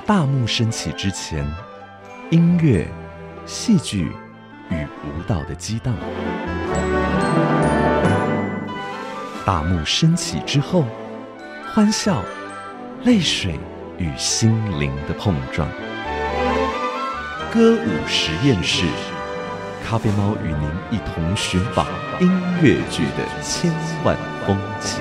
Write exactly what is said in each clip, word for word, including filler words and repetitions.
大幕升起之前，音乐、戏剧与舞蹈的激荡；大幕升起之后，欢笑、泪水与心灵的碰撞。歌舞实验室，咖啡猫与您一同寻访音乐剧的千万风情。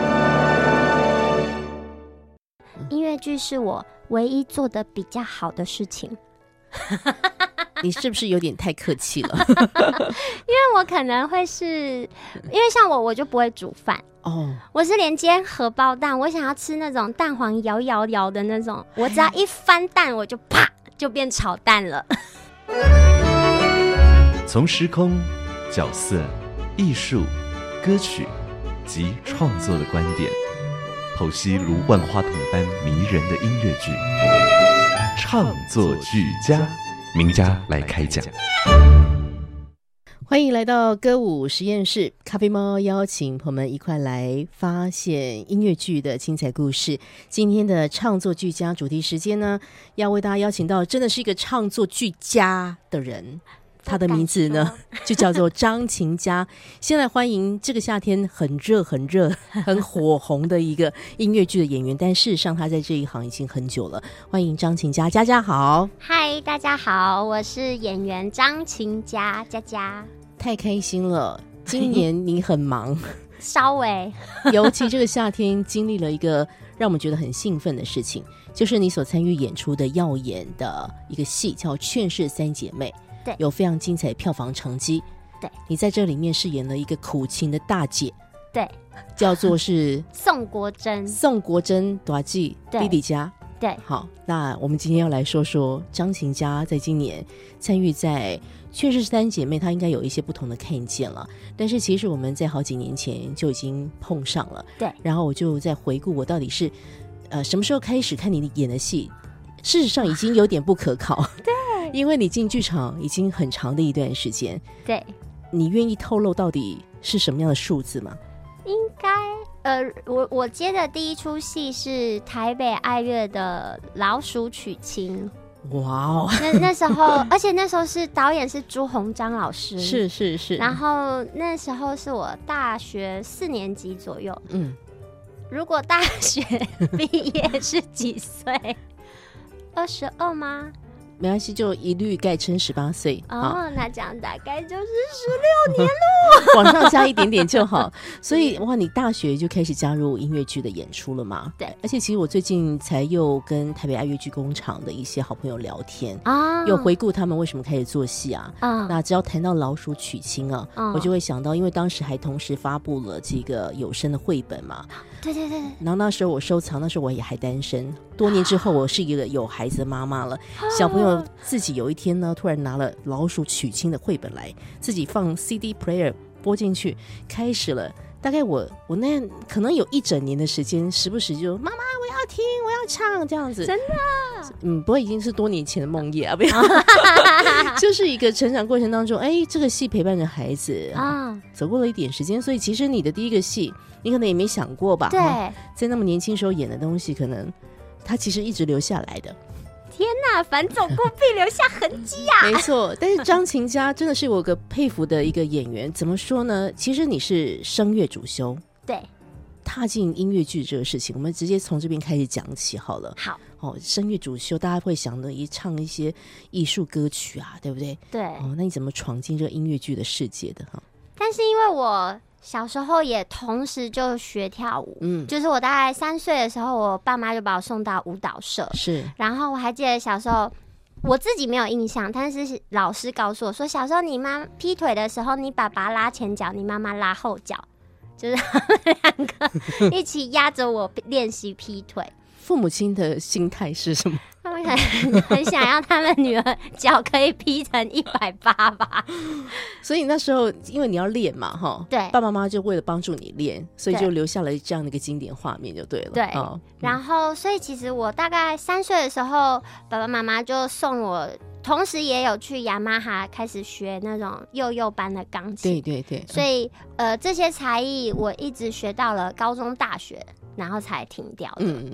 音乐剧是我唯一做的比较好的事情。 你是不是有点太客气了？ 因为我可能会是，因为像我，我就不会煮饭哦，我是连煎荷包蛋，我想要吃那种蛋黄摇摇摇的那种，我只要一翻蛋，我就啪就变炒蛋了。 从时空、角色、艺术、歌曲及创作的观点，剖析如万花筒般迷人的音乐剧，唱作俱佳，名家来开讲。 欢迎来到歌舞实验室，咖啡猫邀请朋友们一块来发现音乐剧的精彩故事。今天的唱作俱佳主题时间呢，要为大家邀请到真的是一个唱作俱佳的人。他的名字呢就叫做张琴家。先来欢迎这个夏天很热很热很火红的一个音乐剧的演员，但事实上他在这一行已经很久了。欢迎张琴家。佳佳好。 嗨，大家好，我是演员张琴家。佳佳太开心了，今年你很忙稍微尤其这个夏天经历了一个让我们觉得很兴奋的事情，就是你所参与演出的耀眼的一个戏叫《劝世三姐妹》， 对， 有非常精彩的票房成绩。 对， 你在这里面饰演了一个苦情的大姐， 对， 叫做是宋国珍。 宋国珍大姐弟弟家。 对， 好，那我们今天要来说说张琴家在今年参与在《劝世三姐妹》，她应该有一些不同的看见了。但是其实我们在好几年前就已经碰上了。 对， 然后我就在回顾我到底是呃什么时候开始看你演的戏，事实上已经有点不可靠。 对。 因为你进剧场已经很长的一段时间， 对， 你愿意透露到底是什么样的数字吗？ 应该，呃，我我接的第一出戏是台北爱乐的《老鼠娶亲》。 哇哦， 那那时候，而且那时候是导演是朱鸿章老师， 是是是。 然后那时候是我大学四年级左右，嗯，如果大学毕业是几岁？二十二吗？ 没关系，就一律概称十八岁哦。那这样大概就是十六年喽， 往上加一点点就好。所以哇，你大学就开始加入音乐剧的演出了嘛？ 对。 而且其实我最近才又跟台北爱乐剧工厂的一些好朋友聊天啊，又回顾他们为什么开始做戏啊。啊，那只要谈到老鼠娶亲啊，啊我就会想到，因为当时还同时发布了这个有声的绘本嘛。 对对对。 然后那时候我收藏，那时候我也还单身，多年之后我是一个有孩子的妈妈了，小朋友自己有一天呢，突然拿了老鼠娶亲的绘本来，自己放 C D player 播进去，开始了。大概我我那可能有一整年的时间，时不时就妈妈我要听我要唱这样子。 真的？ 嗯，不过已经是多年前的梦魇啊，不要就是一个成长过程当中，哎，这个戏陪伴着孩子啊，走过了一点时间，所以其实你的第一个戏，你可能也没想过吧？ 对， 在那么年轻时候演的东西，可能它其实一直留下来的。 天哪，反走过必留下痕迹啊！ 没错，但是张琴家真的是我个佩服的一个演员。怎么说呢？其实你是声乐主修， 对， 踏进音乐剧这个事情，我们直接从这边开始讲起好了。 好， 哦，声乐主修，大家会想的一唱一些艺术歌曲啊，对不对？ 对。 哦，那你怎么闯进这个音乐剧的世界的哈？ 但是因为我小时候也同时就学跳舞，嗯，就是我大概三岁的时候，我爸妈就把我送到舞蹈社， 是。 然后我还记得小时候，我自己没有印象，但是老师告诉我说，小时候你妈劈腿的时候，你爸爸拉前脚，你妈妈拉后脚，就是他们两个一起压着我练习劈腿。 父母亲的心态是什么？ 他们很很想要他们女儿脚可以劈成一百八吧。 所以那时候因为你要练嘛，哈， 对， 爸爸妈妈就为了帮助你练，所以就留下了这样的一个经典画面就对了。 对， 哦嗯、 然后所以其实我大概三岁的时候，爸爸妈妈就送我，同时也有去雅马哈开始学那种幼幼班的钢琴。 对对对， 所以呃这些才艺我一直学到了高中大学，然后才停掉的。 嗯嗯。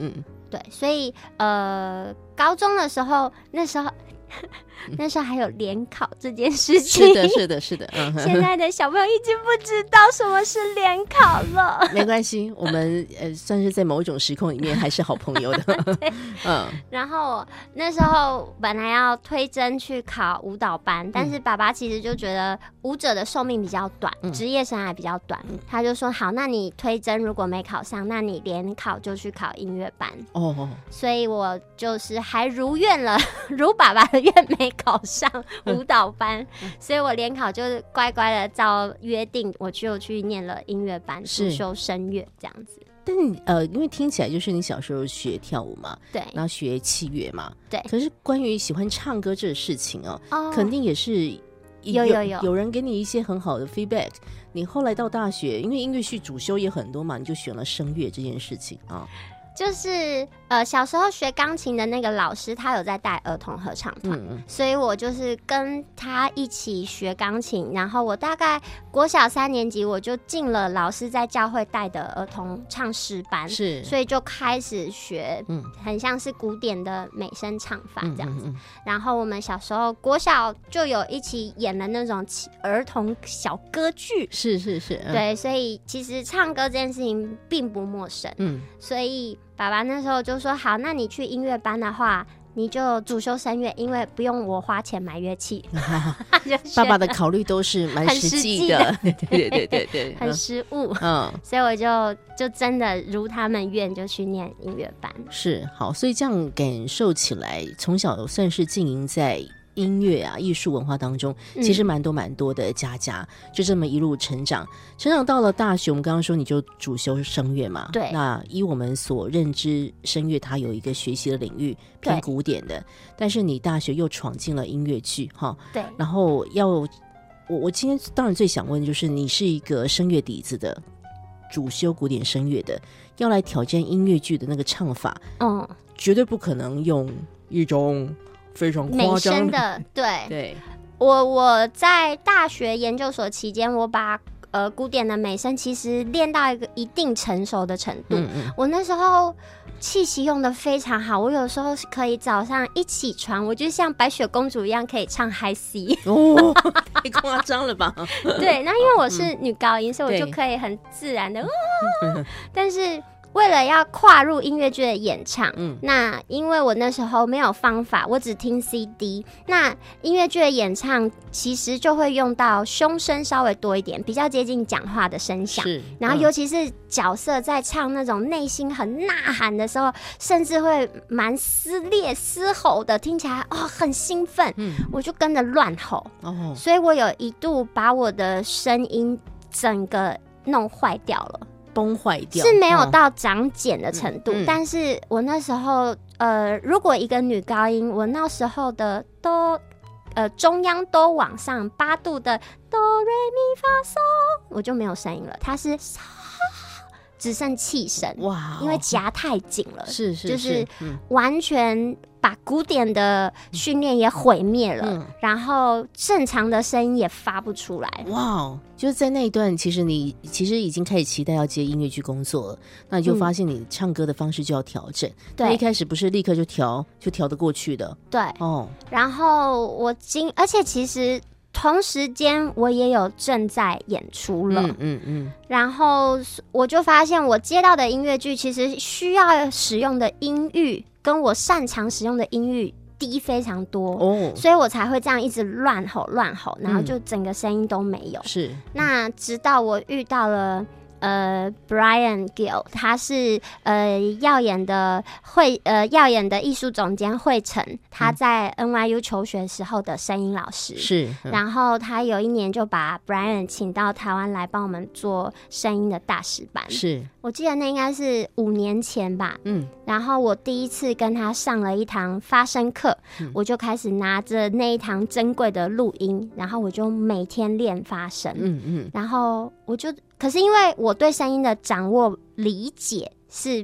对，所以呃，高中的时候，那时候那时候还有联考这件事情， 是的，是的，是的。嗯， 现在的小朋友已经不知道什么是联考了。 没关系，我们呃算是在某一种时空里面还是好朋友的。嗯， 然后那时候本来要推甄去考舞蹈班，但是爸爸其实就觉得舞者的寿命比较短，职、嗯、业生涯比较短、嗯，他就说好，那你推甄如果没考上，那你联考就去考音乐班。哦，所以我就是还如愿了，如爸爸的愿没考上舞蹈班，嗯、所以我联考就是乖乖的照约定，我就去念了音乐班，主修声乐这样子。 但呃，因为听起来就是你小时候学跳舞嘛， 对， 然后学器乐嘛， 对。 可是关于喜欢唱歌这个事情哦， 哦肯定也是有有有有人给你一些很好的 feedback。你后来到大学，因为音乐系主修也很多嘛，你就选了声乐这件事情啊。 就是呃，小时候学钢琴的那个老师，他有在带儿童合唱团、嗯，所以我就是跟他一起学钢琴。然后我大概国小三年级，我就进了老师在教会带的儿童唱诗班， 是， 所以就开始学，嗯，很像是古典的美声唱法这样子。嗯嗯嗯、然后我们小时候国小就有一起演了那种儿童小歌剧， 是是是，嗯、 对，所以其实唱歌这件事情并不陌生，嗯，所以。爸爸那时候就说好，那你去音乐班的话你就主修声乐，因为不用我花钱买乐器。 爸爸的考虑都是蛮实际的， 对对对对对， 很实务。 嗯， 所以我就就真的如他们愿，就去念音乐班。 是，好，所以这样感受起来，从小算是经营在音乐啊艺术文化当中，其实蛮多蛮多的家家、嗯、就这么一路成长成长到了大学。我们刚刚说你就主修声乐嘛， 对，那依我们所认知，声乐它有一个学习的领域偏古典的，但是你大学又闯进了音乐剧哈， 对， 然后要我我今天当然最想问的就是你是一个声乐底子的，主修古典声乐的，要来挑战音乐剧的那个唱法，嗯，绝对不可能用一种非常夸张美声的，对对。 我我在大学研究所期间，我把呃古典的美声其实练到一个一定成熟的程度。嗯嗯，我那时候气息用的非常好，我有时候可以早上一起床，我就像白雪公主一样可以唱 high C。 哦，太夸张了吧？ 对，那因为我是女高音，嗯、所以我就可以很自然的。哦、但是。为了要跨入音乐剧的演唱、嗯、那因为我那时候没有方法，我只听 C D， 那音乐剧的演唱其实就会用到胸声稍微多一点，比较接近讲话的声响，然后尤其是角色在唱那种内心很呐喊的时候，甚至会蛮撕裂嘶吼的，听起来哦很兴奋、嗯、我就跟着乱吼、哦、所以我有一度把我的声音整个弄坏掉了， 崩坏掉， 是没有到长茧的程度、嗯嗯、但是我那时候呃，如果一个女高音，我那时候的都呃中央都往上八度的哆瑞咪发嗦，我就没有声音了，它是只剩气声，哇，因为夹太紧了， 是是是， 就是完全把古典的训练也毁灭了、嗯、然后正常的声音也发不出来。 哇，就是在那一段其实你其实已经开始期待要接音乐剧工作了，那你就发现你唱歌的方式就要调整、嗯、对，一开始不是立刻就调就调得过去的， 对哦。然后我今而且其实同时间我也有正在演出了，嗯嗯嗯，然后我就发现我接到的音乐剧其实需要使用的音域跟我擅长使用的音域低非常多、哦、所以我才会这样一直乱吼乱吼，然后就整个声音都没有、嗯、是。那直到我遇到了呃 Brian Gill， 他是呃耀眼的会呃耀眼的艺术总监惠成，他在 N Y U 求学时候的声音老师是、 嗯、然后他有一年就把 Brian 请到台湾来帮我们做声音的大师班，是我记得那应该是五年前吧，嗯，然后我第一次跟他上了一堂发声课、嗯、我就开始拿着那一堂珍贵的录音，然后我就每天练发声，嗯嗯，然后我就可是因为我对声音的掌握理解是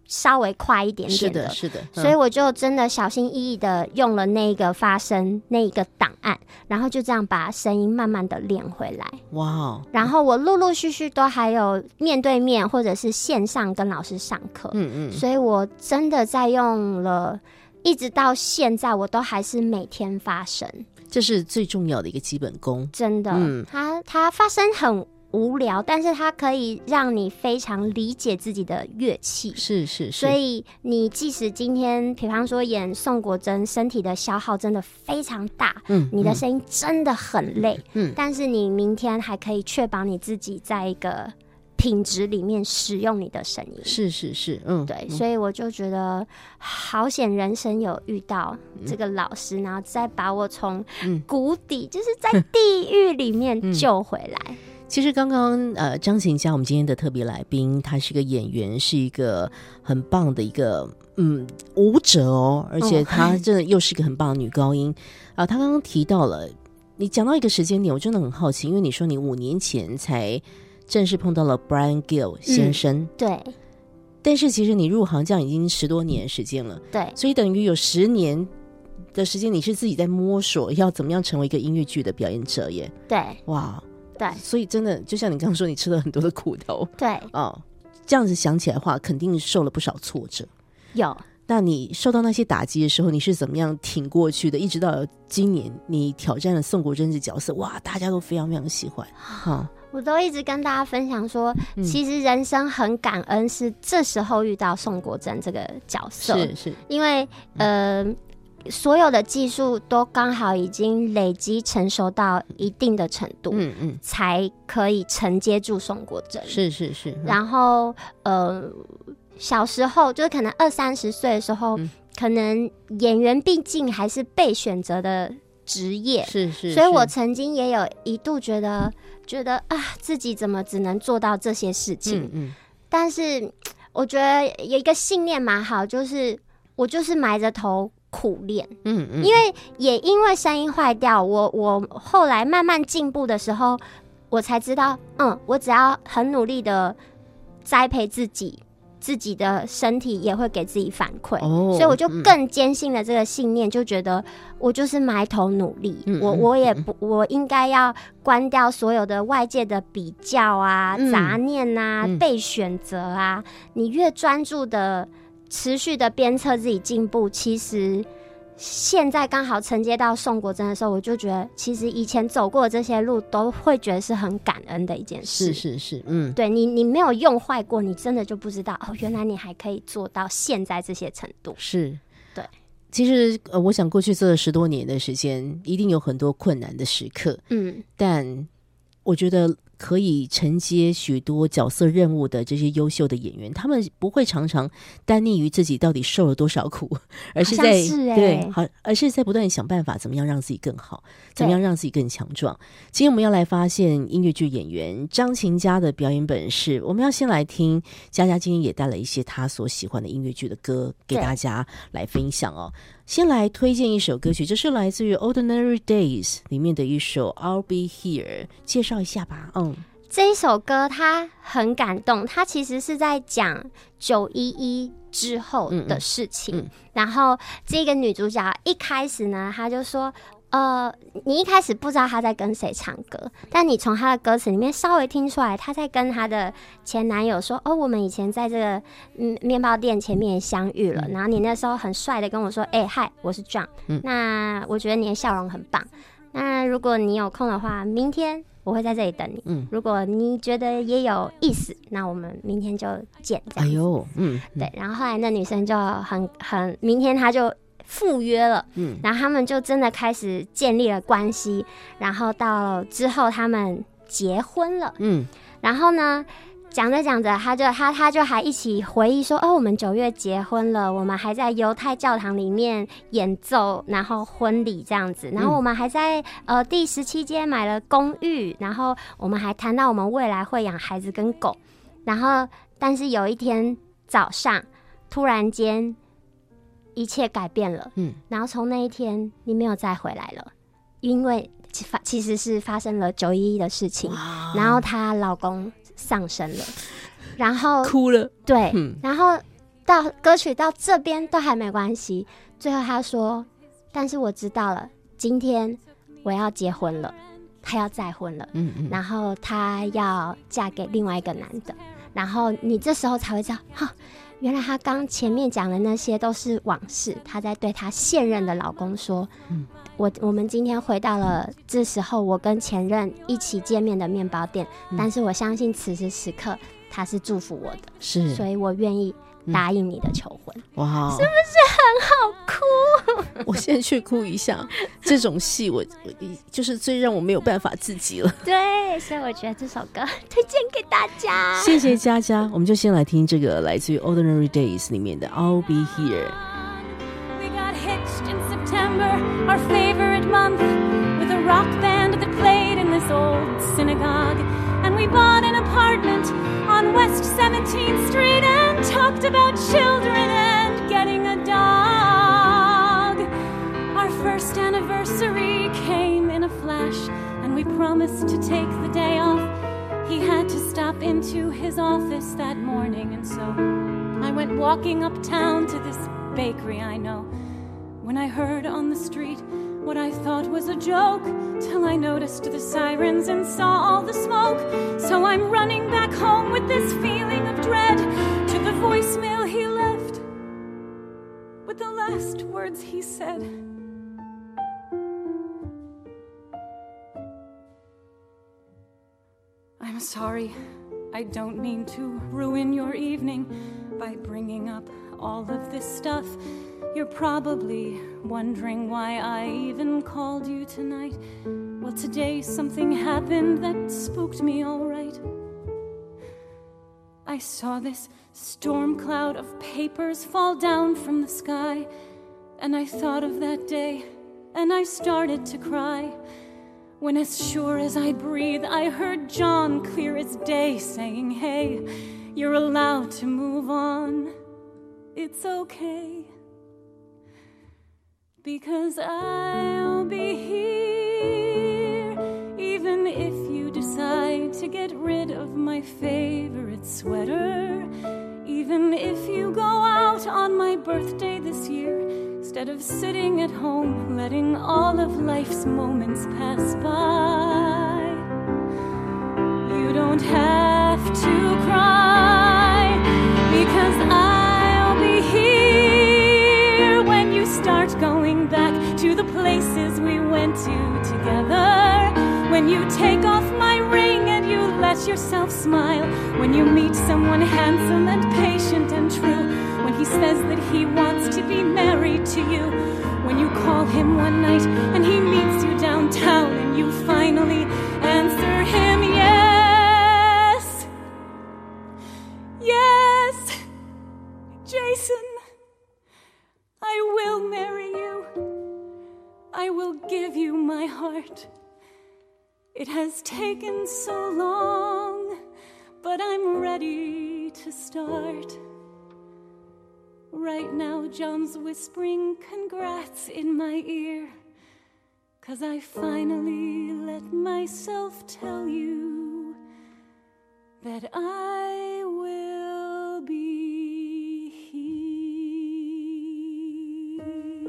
稍微快一点点的， 是的，是的，嗯、 所以我就真的小心翼翼的用了那个发声那一个档案，然后就这样把声音慢慢的练回来。 哇哦！ 然后我陆陆续续都还有面对面或者是线上跟老师上课，嗯嗯，所以我真的在用了，一直到现在我都还是每天发声， 这是最重要的一个基本功。 真的，嗯，它它发声很无聊，但是它可以让你非常理解自己的乐器， 是是是。 所以你即使今天比方说演宋国珍，身体的消耗真的非常大，嗯，你的声音真的很累，嗯，但是你明天还可以确保你自己在一个品质里面使用你的声音， 是是是，嗯， 对，所以我就觉得好险，人生有遇到这个老师，嗯、然后再把我从谷底，嗯、就是在地狱里面救回来。嗯其实刚刚呃，张琴佳我们今天的特别来宾，他是个演员，是一个很棒的一个嗯舞者哦，而且他真的又是一个很棒的女高音啊、呃。他刚刚提到了，你讲到一个时间点，我真的很好奇，因为你说你五年前才正式碰到了 Brian Gill 先生， 嗯、对， 但是其实你入行这样已经十多年时间了， 对， 所以等于有十年的时间，你是自己在摸索要怎么样成为一个音乐剧的表演者耶， 对， 哇。 对， 所以真的就像你刚刚说，你吃了很多的苦头， 对哦，这样子想起来的话，肯定受了不少挫折。 有， 那你受到那些打击的时候，你是怎么样挺过去的？一直到今年，你挑战了宋国珍这角色，哇，大家都非常非常喜欢。哦、 我都一直跟大家分享说，嗯、其实人生很感恩，是这时候遇到宋国珍这个角色， 是是， 因为呃。嗯所有的技术都刚好已经累积成熟到一定的程度，嗯嗯，才可以承接住宋国珍。 是是是。 嗯、然后呃，小时候就是可能二三十岁的时候，嗯、可能演员毕竟还是被选择的职业， 是 是, 是。 所以我曾经也有一度觉得觉得啊，自己怎么只能做到这些事情？嗯嗯。但是我觉得有一个信念蛮好，就是我就是埋着头。苦练，嗯嗯，因为也因为声音坏掉，我我后来慢慢进步的时候，我才知道，嗯，我只要很努力的栽培自己，自己的身体也会给自己反馈，哦、所以我就更坚信了这个信念，就觉得我就是埋头努力，嗯、我我也不，我应该要关掉所有的外界的比较啊、嗯、杂念啊、嗯、被选择啊，你越专注的。持续的鞭策自己进步，其实现在刚好承接到宋国珍的时候，我就觉得其实以前走过的这些路都会觉得是很感恩的一件事。 是是是，嗯， 对你你没有用坏过，你真的就不知道哦，原来你还可以做到现在这些程度。 是， 对。 其实呃，我想过去这十多年的时间，一定有很多困难的时刻，嗯，但我觉得。可以承接许多角色任务的这些优秀的演员，他们不会常常单溺于自己到底受了多少苦，而是在是、欸、 对，好，而是在不断想办法怎么样让自己更好，怎么样让自己更强壮。今天我们要来发现音乐剧演员张琴佳的表演本事。我们要先来听佳佳今天也带了一些她所喜欢的音乐剧的歌给大家来分享哦。先来推荐一首歌曲，这是来自于 Ordinary Days 里面的一首 I'll Be Here， 介绍一下吧。嗯， 这一首歌它很感动，它其实是在讲九一一之后的事情。嗯嗯、然后这个女主角一开始呢，她就说呃，你一开始不知道她在跟谁唱歌，但你从她的歌词里面稍微听出来，她在跟她的前男友说，哦，我们以前在这个嗯面包店前面相遇了，嗯、然后你那时候很帅的跟我说，哎、欸，嗨，我是 John，嗯、那我觉得你的笑容很棒，那如果你有空的话，明天我会在这里等你，嗯、如果你觉得也有意思，那我们明天就见，这样子。哎呦，嗯，对，然后后来那女生就很很，明天她就赴约了，嗯，然后他们就真的开始建立了关系，然后到之后他们结婚了，嗯，然后呢，讲着讲着，他就他他就还一起回忆说，哦，我们九月结婚了，我们还在犹太教堂里面演奏，然后婚礼这样子，然后我们还在呃第十七街买了公寓，然后我们还谈到我们未来会养孩子跟狗，然后但是有一天早上，突然间。一切改变了，嗯，然后从那一天你没有再回来了，因为其实是发生了九一一的事情，然后她老公丧生了，然后哭了， 对，嗯、然后到歌曲到这边都还没关系。最后他说，但是我知道了，今天我要结婚了，他要再婚了，嗯嗯，然后他要嫁给另外一个男的，然后你这时候才会知道，哈，原来他刚前面讲的那些都是往事，他在对他现任的老公说，嗯，我我们今天回到了这时候我跟前任一起见面的面包店，嗯，但是我相信此时此刻他是祝福我的，是，所以我愿意答应你的求婚。哇，是不是很好哭？ 我现在去哭一下，这种戏我就是最让我没有办法自己了。 对，所以我觉得这首歌推荐给大家。 谢谢佳佳，我们就先来听这个来自于 Ordinary Days 里面的 I'll Be Here。 We got hitched in September, our favorite month, with a rock band that played in this old synagogue, and we bought an apartment on West seventeenth Street and talked about children and getting a dog. Our first anniversary came in a flash, and we promised to take the day off. He had to stop into his office that morning, and so I went walking uptown to this bakery I know, when I heard on the street what I thought was a joke, till I noticed the sirens and saw all the smoke. So I'm running back home with this feeling of dread, to the voicemail he left, with the last words he said. I'm sorry, I don't mean to ruin your evening by bringing up all of this stuff. You're probably wondering why I even called you tonight. Well, today something happened that spooked me all right. I saw this storm cloud of papers fall down from the sky, and I thought of that day, and I started to cry, when as sure as I breathe, I heard John clear as day saying, hey, you're allowed to move on. It's okay. Because I'll be here, even if you decide to get rid of my favorite sweater, even if you go out on my birthday this year, instead of sitting at home letting all of life's moments pass by. You don't have to cry, because I'll be here when you start going back to the places we went to together, when you take off my ring and you let yourself smile, when you meet someone handsome and patient and true, when he says that he wants to be married to you, when you call him one night and he meets you downtown and you finally answer him yes. Yes, Jason, I will marry you. I will give you my heart. It has taken so long, but I'm ready to start. Right now, John's whispering congrats in my ear, 'cause I finally let myself tell you that I will be here.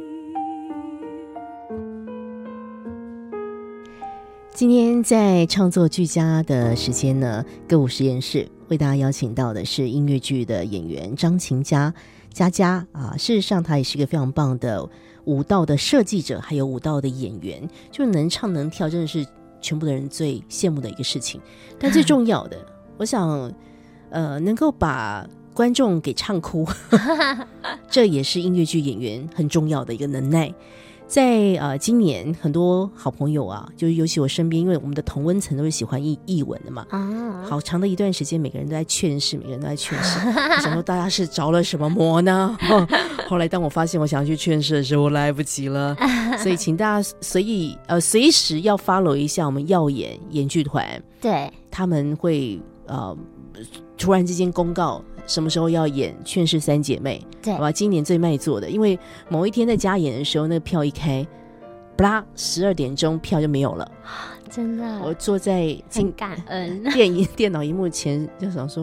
今天在创作俱佳的时间呢，歌舞实验室为大家邀请到的是音乐剧的演员张琴佳佳佳啊，事实上她也是一个非常棒的舞蹈的设计者，还有舞蹈的演员，就能唱能跳，真的是全部的人最羡慕的一个事情。但最重要的，我想，呃，能够把观众给唱哭，这也是音乐剧演员很重要的一个能耐。在呃今年很多好朋友啊，就是尤其我身边，因为我们的同温层都是喜欢艺艺文的嘛，啊，好长的一段时间，每个人都在劝世，每个人都在劝世。我想说大家是着了什么魔呢？后来当我发现我想要去劝世的时候，我来不及了。所以请大家随意呃随时要 follow 一下我们耀眼演剧团，对，他们会呃突然之间公告什么时候要演《劝世三姐妹》，对，好吧，今年最卖座的，因为某一天在加演的时候，那个票一开，不啦，十二点钟票就没有了，真的。我坐在很感恩电影电脑荧幕前，就想说，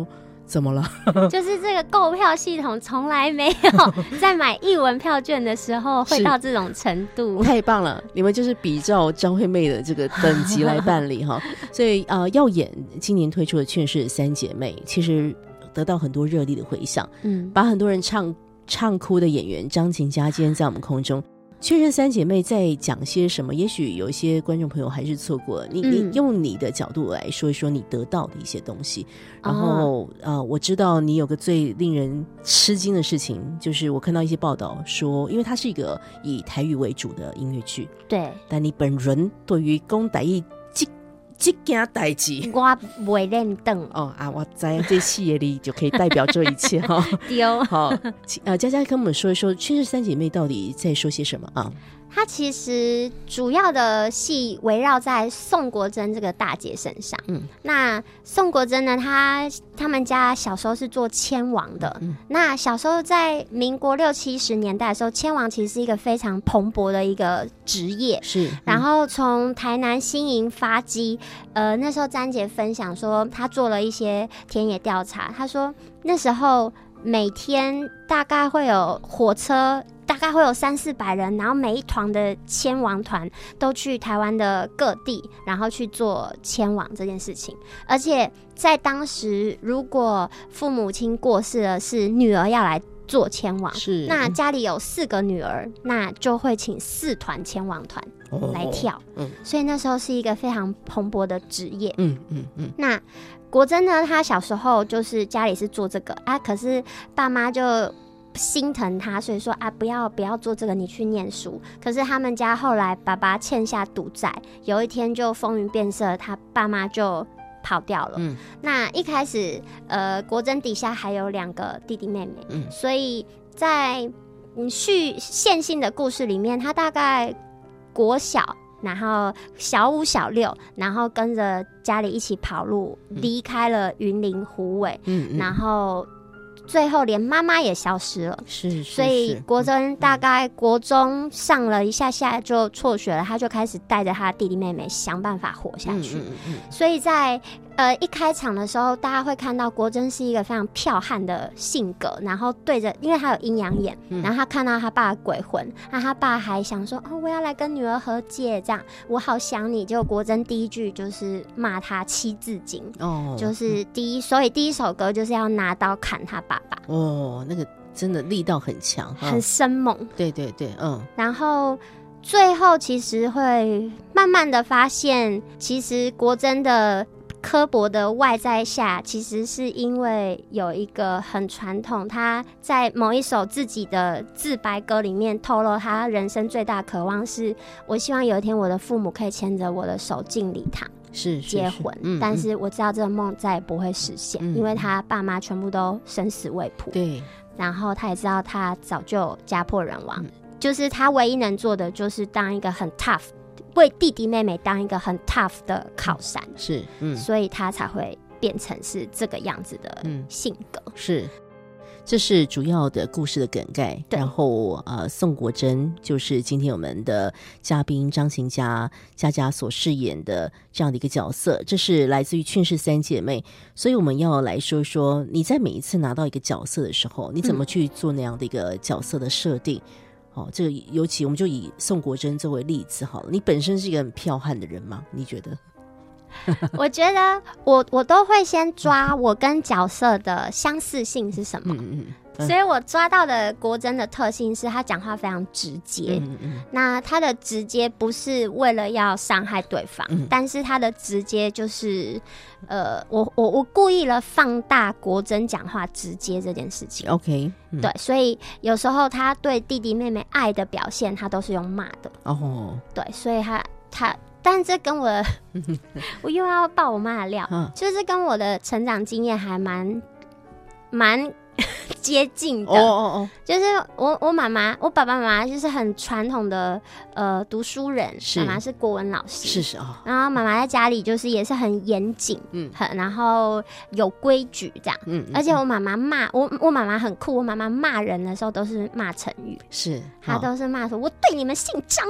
怎么了？ 就是这个购票系统从来没有在买艺文票券的时候会到这种程度。 太棒了，你们就是比照张惠妹的这个等级来办理哈。所以呃，耀眼今年推出的《劝世三姐妹》，其实得到很多热烈的回响，嗯，把很多人唱唱哭的演员张琴佳今天在我们空中。确认三姐妹在讲些什么？也许有一些观众朋友还是错过了。你、嗯、你用你的角度来说一说你得到的一些东西。然后、哦、呃，我知道你有个最令人吃惊的事情，就是我看到一些报道说，因为它是一个以台语为主的音乐剧，对，但你本人对于讲台语这这件代志， 我不会认懂哦啊！我在这戏业里就可以代表这一切哈。 丢好，呃，佳佳跟我们说一说《劝世三姐妹》到底在说些什么啊？ 它其实主要的戏围绕在宋国珍这个大姐身上。嗯，那宋国珍呢，她他们家小时候是做签王的。嗯，那小时候在民国六七十年代的时候，签王其实是一个非常蓬勃的一个职业。是，嗯、然后从台南新营发迹，呃，那时候詹姐分享说，她做了一些田野调查，她说那时候每天大概会有火车。大概会有三四百人，然后每一团的签王团都去台湾的各地，然后去做签王这件事情。而且在当时，如果父母亲过世了，是女儿要来做签王，是那家里有四个女儿，那就会请四团签王团来跳。哦嗯、所以那时候是一个非常蓬勃的职业。嗯嗯嗯。那国珍呢，她小时候就是家里是做这个啊，可是爸妈就心疼他，所以说啊，不要不要做这个，你去念书。可是他们家后来爸爸欠下赌债，有一天就风云变色，他爸妈就跑掉了。嗯，那一开始呃，国珍底下还有两个弟弟妹妹，嗯，所以在续线性的故事里面，他大概国小，然后小五小六，然后跟着家里一起跑路，离开了云林虎尾，嗯，然后最后连妈妈也消失了，是，是，所以国珍大概国中上了一下下就辍学了，他就开始带着他的弟弟妹妹想办法活下去。嗯嗯嗯，所以在呃一开场的时候，大家会看到国珍是一个非常剽悍的性格，然后对着，因为他有阴阳眼，嗯、然后他看到他爸的鬼魂，那他爸还想说哦，我要来跟女儿和解，这样我好想你。结果国珍第一句就是骂他七字经，哦，就是第一，所以第一首歌就是要拿刀砍他爸爸。 哦，那个真的力道很强， 很生猛。 对对对，嗯。 然后最后其实会慢慢的发现，其实国珍的刻薄的外在下，其实是因为有一个很传统，他在某一首自己的自白歌里面透露，他人生最大渴望是，我希望有一天我的父母可以牵着我的手进礼堂。是结婚，嗯，但是我知道这个梦再也不会实现，嗯，因为他爸妈全部都生死未卜。对，然后他也知道他早就家破人亡，嗯，就是他唯一能做的就是当一个很 tough， 为弟弟妹妹当一个很 tough 的靠山。是，嗯，所以他才会变成是这个样子的性格。嗯， 是。这是主要的故事的梗概，然后呃，宋国珍就是今天我们的嘉宾张琴佳佳佳所饰演的这样的一个角色，这是来自于《劝世三姐妹》，所以我们要来说说你在每一次拿到一个角色的时候，你怎么去做那样的一个角色的设定。嗯，哦，这个尤其我们就以宋国珍作为例子好了，你本身是一个很剽悍的人吗？你觉得？ 我觉得我我都会先抓我跟角色的相似性是什么，嗯嗯，所以我抓到的国珍的特性是他讲话非常直接，嗯嗯，那他的直接不是为了要伤害对方，嗯，但是他的直接就是呃，我我我故意了放大国珍讲话直接这件事情。 OK，嗯，对，所以有时候他对弟弟妹妹爱的表现他都是用骂的哦，对，所以他他但这跟我的我又要爆我妈的料，嗯，就是跟我的成长经验还蛮蛮接近的。哦哦哦，就是我我妈妈我爸爸妈妈就是很传统的呃读书人，妈妈是国文老师，是是哦，然后妈妈在家里就是也是很严谨，嗯，很然后有规矩这样，嗯，而且我妈妈骂我我妈妈很酷，我妈妈骂人的时候都是骂成语，是她都是骂说我对你们姓张的哦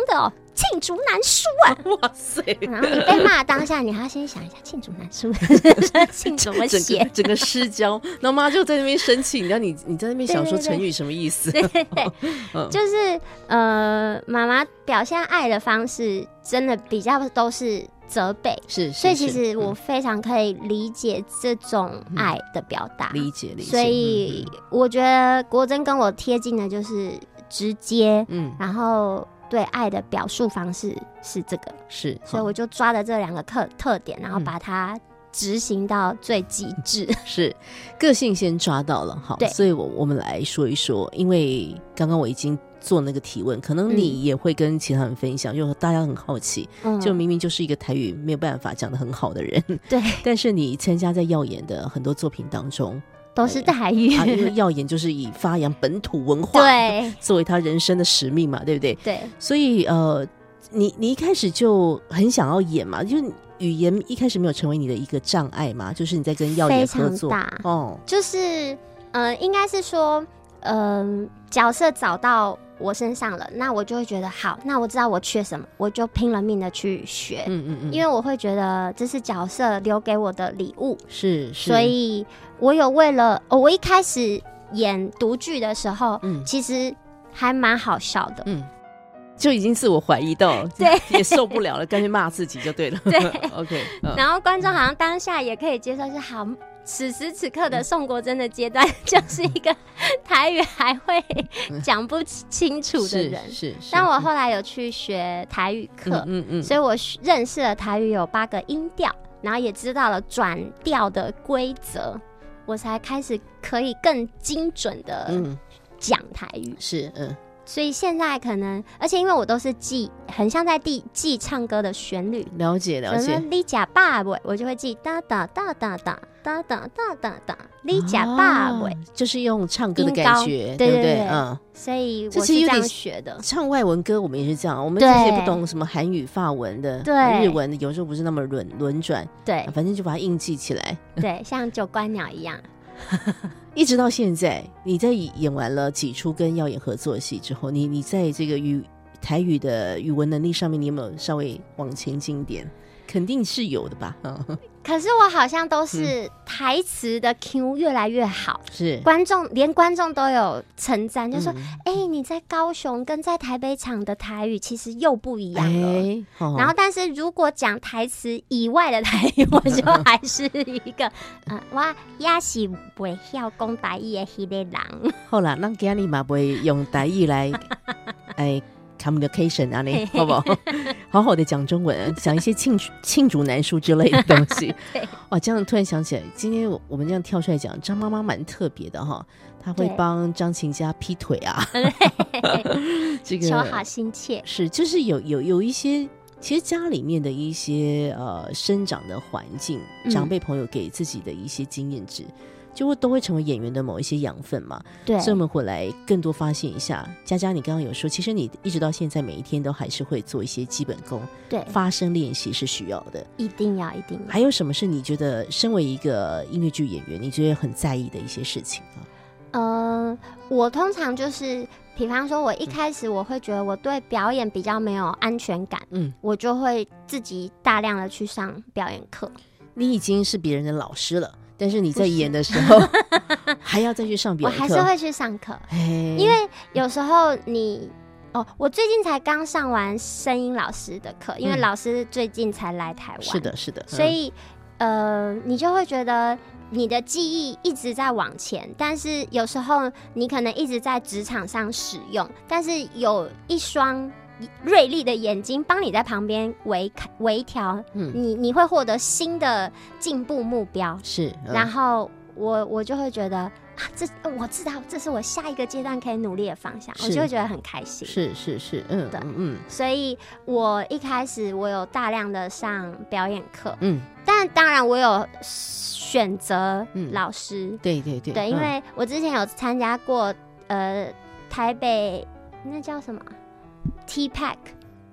罄竹难书啊！ 哇塞！ 然后你被骂当下，你还要先想一下罄竹难书，罄怎么写？ 整个整个失焦，然后妈就在那边生气，你知道你你在那边想说成语什么意思？ 对对对，嗯、就是呃，妈妈表现爱的方式真的比较都是责备， 是，是所以其实我非常可以理解这种爱的表达， 嗯、理解理解。 所以我觉得国珍跟我贴近的就是直接，嗯，然后对爱的表述方式是这个， 是， 所以我就抓了这两个特特点，然后把它执行到最极致。嗯、 是，个性先抓到了，好，所以我我们来说一说，因为刚刚我已经做那个提问，可能你也会跟其他人分享，嗯、就大家很好奇，嗯、就明明就是一个台语没有办法讲得很好的人， 对， 但是你参加在耀眼的很多作品当中。 都是台语、 啊，因为耀眼就是以发扬本土文化对作为他人生的使命嘛，对不对？ 对， 所以呃，你你一开始就很想要演嘛，就是语言一开始没有成为你的一个障碍嘛，就是你在跟耀眼合作， 非常大哦， 就是呃，应该是说，嗯、呃，角色找到我身上了，那我就会觉得好，那我知道我缺什么，我就拼了命的去学，嗯嗯嗯，因为我会觉得这是角色留给我的礼物， 是，是， 所以我有为了，哦，我一开始演读剧的时候，嗯，其实还蛮好笑的，嗯， 就已经自我怀疑到， 对， 也受不了了，干脆骂自己就对了， 对 ，OK，、嗯、 然后观众好像当下也可以接受，是好。此时此刻的宋国珍的阶段，就是一个台语还会讲不清楚的人。 是 是, 是。 但我后来有去学台语课，嗯嗯嗯，所以我认识了台语有八个音调，然后也知道了转调的规则，我才开始可以更精准的讲台语。 是，嗯。 所以现在可能，而且因为我都是记，很像在记记唱歌的旋律， 了解了解。 你假爸尾，我就会记哒哒哒哒哒哒哒哒哒哒，你假爸尾， 就是用唱歌的感觉， 对不对？嗯， 所以我是这样学的。 唱外文歌我们也是这样，我们这些不懂什么韩语、法文的、日文的，有时候不是那么轮轮转， 对， 反正就把它硬记起来， 对，像九官鸟一样。 一直到现在，你在演完了几出跟耀眼合作的戏之后，你你在这个语台语的语文能力上面，你有没有稍微往前进一点？肯定是有的吧。 可是我好像都是台词的 Q 越来越好， 是观众连观众都有称赞，就说：“哎、嗯欸，你在高雄跟在台北场的台语其实又不一样了。欸哦”然后，但是如果讲台词以外的台语，我就还是一个，嗯，我也是不会晓讲台语的那个人。 好啦，咱今天嘛不会用台语来，哎。communication 啊，你好不好？好好的讲中文，讲一些罄罄竹难书之类的东西。哇，这样突然想起来，今天我们这样跳出来讲，张妈妈蛮特别的哈，她会帮张琴家劈腿啊，这个求好心切。 是，就是有有有一些，其实家里面的一些呃生长的环境，长辈朋友给自己的一些经验值。嗯，就会都会成为演员的某一些养分嘛， 对， 所以我们回来更多发现一下。佳佳，你刚刚有说，其实你一直到现在每一天都还是会做一些基本功， 对， 发声练习是需要的， 一定要，一定要。 还有什么是你觉得身为一个音乐剧演员，你觉得很在意的一些事情啊？ 呃，我通常就是，比方说，我一开始我会觉得我对表演比较没有安全感，嗯，我就会自己大量的去上表演课。 你已经是别人的老师了。但是你在演的时候还要再去上表演课， 我还是会去上课，因为有时候你哦，我最近才刚上完声音老师的课，因为老师最近才来台湾， 是的，是的，嗯、 所以呃，你就会觉得你的记忆一直在往前，但是有时候你可能一直在职场上使用，但是有一双锐利的眼睛帮你在旁边微微调，嗯，你你会获得新的进步目标， 是， 嗯、然后我我就会觉得啊，这我知道这是我下一个阶段可以努力的方向，我就会觉得很开心， 是是是，嗯对嗯，所以我一开始我有大量的上表演课，嗯，但当然我有选择老师， 嗯、对对对， 对，因为我之前有参加过呃台北那叫什么？T-Pack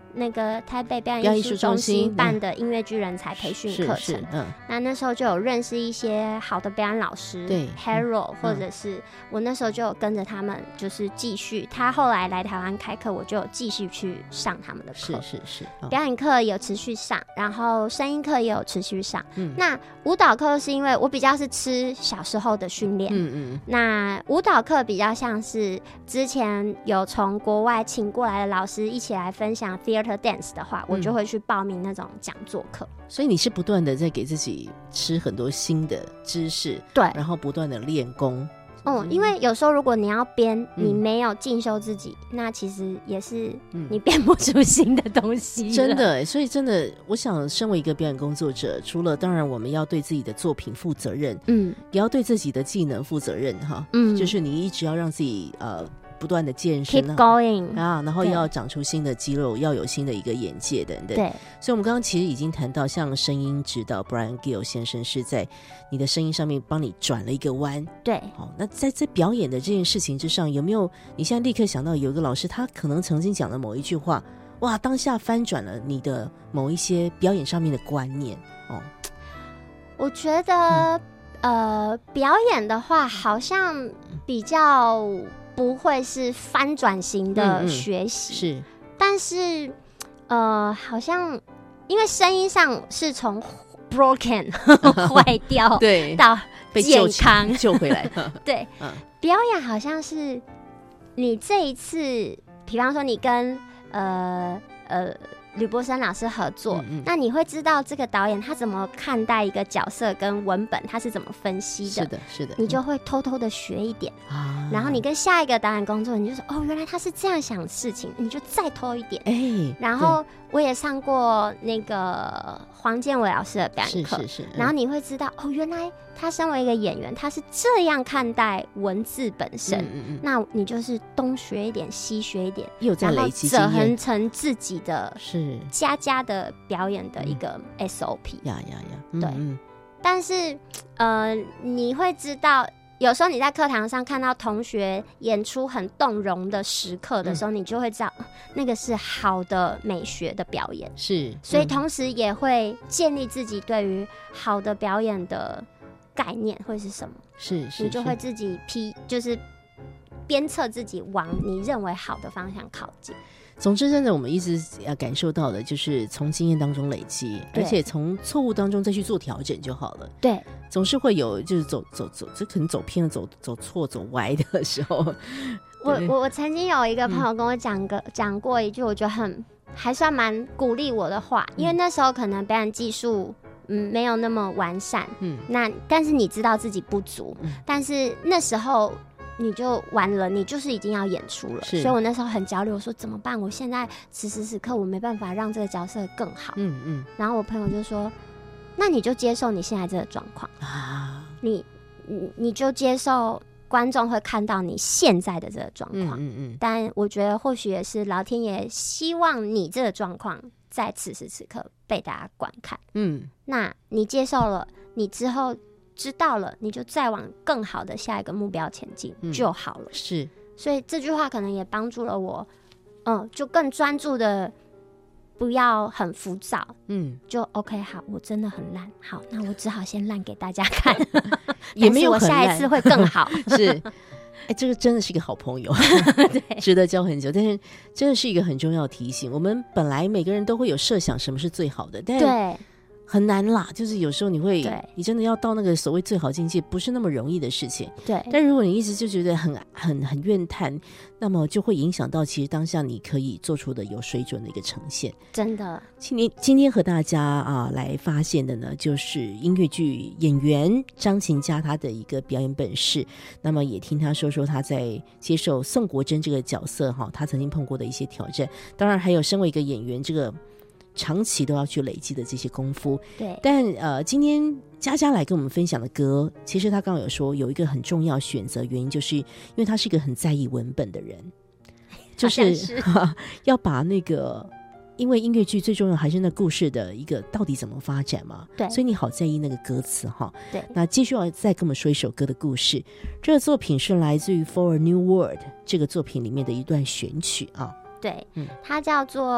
那个台北表表演演艺术中艺术中心心办的音乐剧人才培训课程。 是是嗯， 那那时候就有认识一些好的表演老师， 对 Harold，、 嗯、 或者是我那时候就有跟着他们，就是继续。他后来来台湾开课，我就有继续去上他们的课。 是是是，哦、 表演课有持续上，然后声音课也有持续上。 嗯， 那舞蹈课是因为我比较是吃小时候的训练， 嗯嗯， 那舞蹈课比较像是之前有从国外请过来的老师一起来分享 theater dance 的话，我就会去报名那种讲座课。 所以你是不断的在给自己吃很多新的知识， 对， 然后不断的练功。 嗯，因为有时候如果你要编，你没有进修自己，嗯、那其实也是你编不出新的东西。 真的，所以真的，我想身为一个表演工作者，除了当然我们要对自己的作品负责任，嗯，也要对自己的技能负责任哈，嗯，就是你一直要让自己呃。不断的健身 Keep going 啊，然后要长出新的肌肉，要有新的一个眼界等等。 对， 所以我们刚刚其实已经谈到，像声音指导 Brian Gill 先生是在你的声音上面帮你转了一个弯。 对， 好，那在这表演的这件事情之上，有没有你现在立刻想到有一个老师，他可能曾经讲的某一句话，哇，当下翻转了你的某一些表演上面的观念哦？ 我觉得、嗯、呃，表演的话，好像比较。不会是翻转型的学习、嗯嗯，是，但是呃，好像因为声音上是从 broken 坏掉， 对， 到健康救回来， 对、嗯，表演好像是你这一次，比方说你跟呃呃。吕博生老师合作、嗯嗯，那你会知道这个导演他怎么看待一个角色跟文本，他是怎么分析的。 是的，是的， 你就会偷偷的学一点、嗯、然后你跟下一个导演工作，你就说哦，原来他是这样想事情，你就再偷一点。哎，然后我也上过那个黄建伟老师的表演课，是是是、嗯，然后你会知道哦，原来他身为一个演员，他是这样看待文字本身。嗯嗯嗯，那你就是东学一点，西学一点， 又在累积经验， 然后折合成自己的是家家的表演的一个 S O P。 呀呀呀， 对。嗯嗯，但是呃，你会知道。有时候你在课堂上看到同学演出很动容的时刻的时候、嗯、你就会知道那个是好的美学的表演， 是， 所以同时也会建立自己对于好的表演的概念会是什么， 是，是， 你就会自己批，就是鞭策自己往你认为好的方向靠近。 总之真的我们一直要感受到的就是从经验当中累积，而且从错误当中再去做调整就好了。 对， 总是会有就是走走走这可能走偏了走走错走歪的时候。 我我我曾经有一个朋友跟我讲个讲、嗯、过一句我觉得很还算蛮鼓励我的话，因为那时候可能表演技术嗯没有那么完善，嗯，那但是你知道自己不足、嗯、但是那时候你就完了，你就是已经要演出了，所以我那时候很焦虑，我说怎么办？我现在此时此刻我没办法让这个角色更好。嗯嗯。然后我朋友就说：“那你就接受你现在这个状况啊，你你你就接受观众会看到你现在的这个状况。嗯嗯嗯。但我觉得或许也是老天爷希望你这个状况在此时此刻被大家观看。嗯，那你接受了，你之后。”知道了，你就再往更好的下一个目标前进就好了。嗯、是，所以这句话可能也帮助了我，嗯，就更专注的，不要很浮躁。嗯，就 OK， 好，我真的很烂，好，那我只好先烂给大家看，也没有很烂，我下一次会更好。是，哎、 欸，这个真的是一个好朋友，值得交很久。但是真的是一个很重要的提醒，我们本来每个人都会有设想什么是最好的，但对。 很难啦，就是有时候你会，你真的要到那个所谓最好境界，不是那么容易的事情。对，但如果你一直就觉得很很很怨叹，那么就会影响到其实当下你可以做出的有水准的一个呈现。 真的， 今天今天和大家啊来发现的呢，就是音乐剧演员张琴佳她的一个表演本事。那么也听她说说她在接受宋国珍这个角色哈，她曾经碰过的一些挑战。当然还有身为一个演员这个。长期都要去累积的这些功夫，对。但呃，今天佳佳来跟我们分享的歌，其实他刚刚有说有一个很重要选择原因，就是因为他是一个很在意文本的人，就是是要把那个，因为音乐剧最重要还是那故事的一个到底怎么发展嘛，对。所以你好在意那个歌词哈，对。那继续要再跟我们说一首歌的故事，这个作品是来自于《For a New World》这个作品里面的一段选曲啊。 对、嗯，它叫做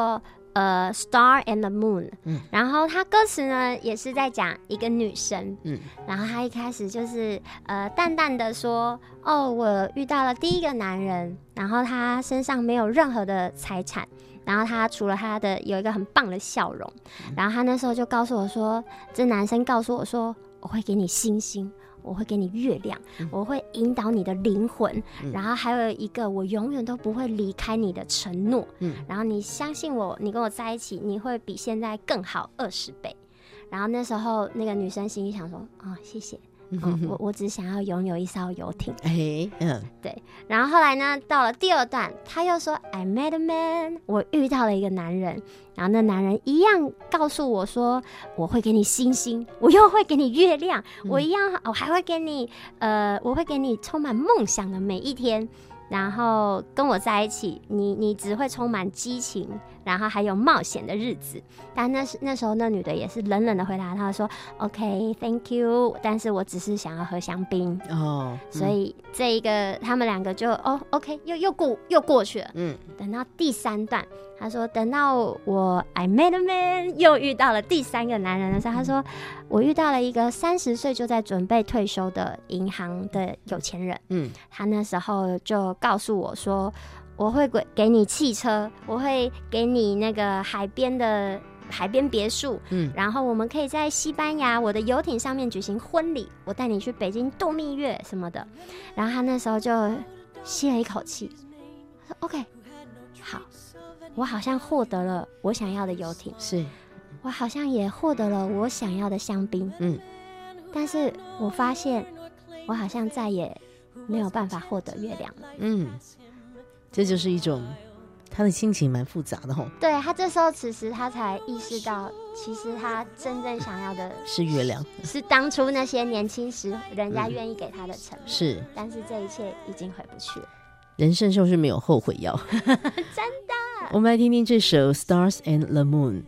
呃 Star and the Moon， 嗯， 然后他歌词呢也是在讲一个女生， 嗯， 然后他一开始就是呃淡淡的说，哦，我遇到了第一个男人，然后他身上没有任何的财产，然后他除了他的有一个很棒的笑容，然后他那时候就告诉我说，这男生告诉我说，我会给你星星，我会给你月亮，嗯，我会引导你的灵魂，嗯，然后还有一个我永远都不会离开你的承诺，嗯，然后你相信我，你跟我在一起，你会比现在更好二十倍。然后那时候那个女生心里想说，哦，谢谢。嗯，我我只想要拥有一艘游艇。 哎，嗯， 对。然后后来呢，到了第二段，他又说 I met a man， 我遇到了一个男人，然后那男人一样告诉我说，我会给你星星，我又会给你月亮，嗯，我一样，我还会给你，呃，我会给你充满梦想的每一天。然后跟我在一起，你你只会充满激情，然后还有冒险的日子。但那时那时候那女的也是冷冷的回答他说 OK thank you， 但是我只是想要喝香槟哦，嗯，所以这一个他们两个就哦 OK 又又过又过去了。嗯，等到第三段，他说等到我 I met a man 又遇到了第三个男人的时候，他说我遇到了一个三十岁就在准备退休的银行的有钱人。嗯，他那时候就告诉我说，我会给你汽车，我会给你那个海边的海边别墅，嗯，然后我们可以在西班牙我的游艇上面举行婚礼，我带你去北京度蜜月什么的。然后他那时候就吸了一口气，他说 OK 好，我好像获得了我想要的游艇， 是我好像也获得了我想要的香槟，嗯，但是我发现我好像再也没有办法获得月亮了。 嗯，这就是一种他的心情蛮复杂的吼。 对，他这时候此时他才意识到，其实他真正想要的是月亮， 是当初那些年轻时人家愿意给他的承诺，嗯，是，但是这一切已经回不去了。 人生就是没有后悔药。 真的。 我们来听听这首 Stars and the Moon。